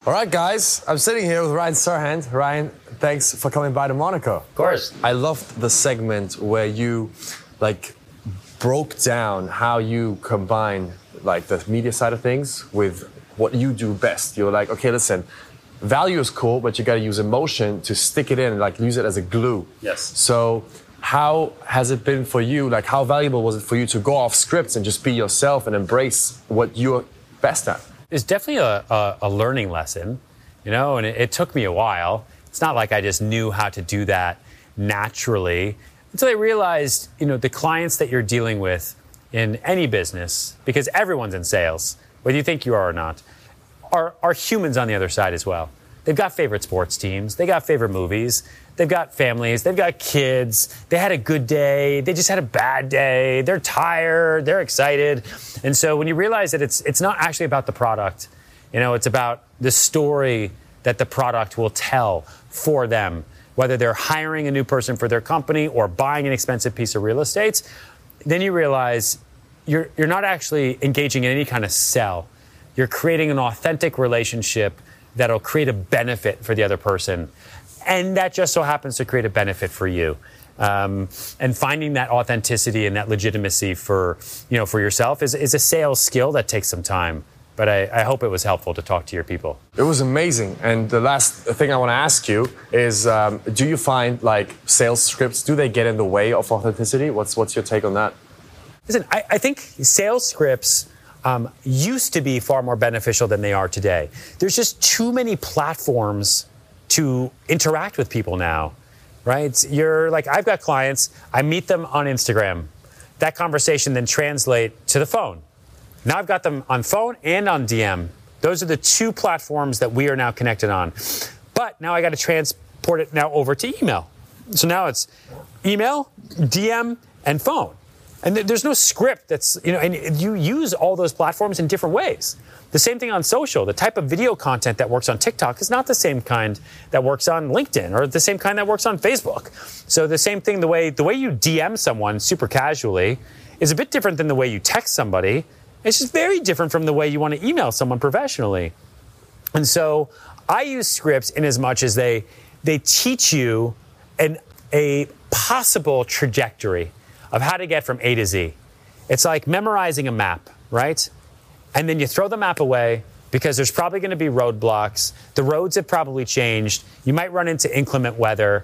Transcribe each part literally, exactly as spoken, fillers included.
All right, guys, I'm sitting here with Ryan Serhant. Ryan, thanks for coming by to Monaco. Of course. I loved the segment where you, like, broke down how you combine, like, the media side of things with what you do best. You're like, okay, listen, value is cool, but you got to use emotion to stick it in, like, use it as a glue. Yes. So how has it been for you? Like, how valuable was it for you to go off scripts and just be yourself and embrace what you're best at? It's definitely a, a, a learning lesson, you know, and it, it took me a while. It's not like I just knew how to do that naturally until I realized, you know, the clients that you're dealing with in any business, because everyone's in sales, whether you think you are or not, are, are humans on the other side as well. They've got favorite sports teams. They got favorite movies. They've got families. They've got kids. They had a good day. They just had a bad day. They're tired. They're excited. And so when you realize that it's it's not actually about the product, you know, it's about the story that the product will tell for them, whether they're hiring a new person for their company or buying an expensive piece of real estate, then you realize you're you're not actually engaging in any kind of sell. You're creating an authentic relationship that'll create a benefit for the other person. And that just so happens to create a benefit for you. Um, and finding that authenticity and that legitimacy for, you know, for yourself is, is a sales skill that takes some time. But I, I hope it was helpful to talk to your people. It was amazing. And the last thing I want to ask you is, um, do you find, like, sales scripts, do they get in the way of authenticity? What's, what's your take on that? Listen, I, I think sales scripts Um, used to be far more beneficial than they are today. There's just too many platforms to interact with people now, right? You're like, I've got clients, I meet them on Instagram. That conversation then translate to the phone. Now I've got them on phone and on D M. Those are the two platforms that we are now connected on. But now I got to transport it now over to email. So now it's email, D M, and phone. And there's no script that's, you know, and you use all those platforms in different ways. The same thing on social. The type of video content that works on TikTok is not the same kind that works on LinkedIn or the same kind that works on Facebook. So the same thing, the way the way you D M someone super casually is a bit different than the way you text somebody. It's just very different from the way you want to email someone professionally. And so I use scripts in as much as they they teach you an a possible trajectory of how to get from A to Z. It's like memorizing a map, right? And then you throw the map away because there's probably going to be roadblocks. The roads have probably changed. You might run into inclement weather,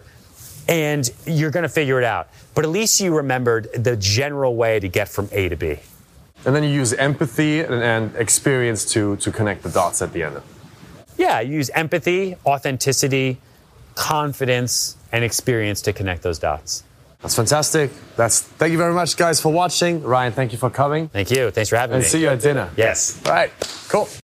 and you're going to figure it out. But at least you remembered the general way to get from A to B. And then you use empathy and, and experience to, to connect the dots at the end. Yeah, you use empathy, authenticity, confidence, and experience to connect those dots. That's fantastic. That's thank you very much, guys, for watching. Ryan, thank you for coming. Thank you. Thanks for having and me. And see you at dinner. Yes. All right. Cool.